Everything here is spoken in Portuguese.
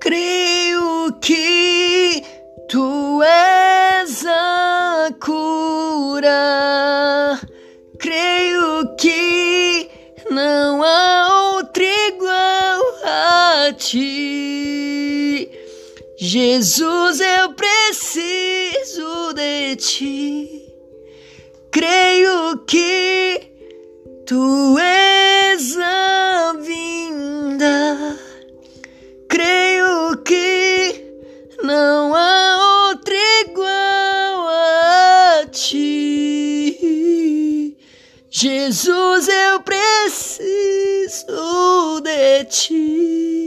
Creio que tu és a cura. Creio que não há outro igual a ti. Jesus, eu preciso de ti. Creio que tu és a vinda. Creio que não há outro igual a ti. Jesus, eu preciso de ti.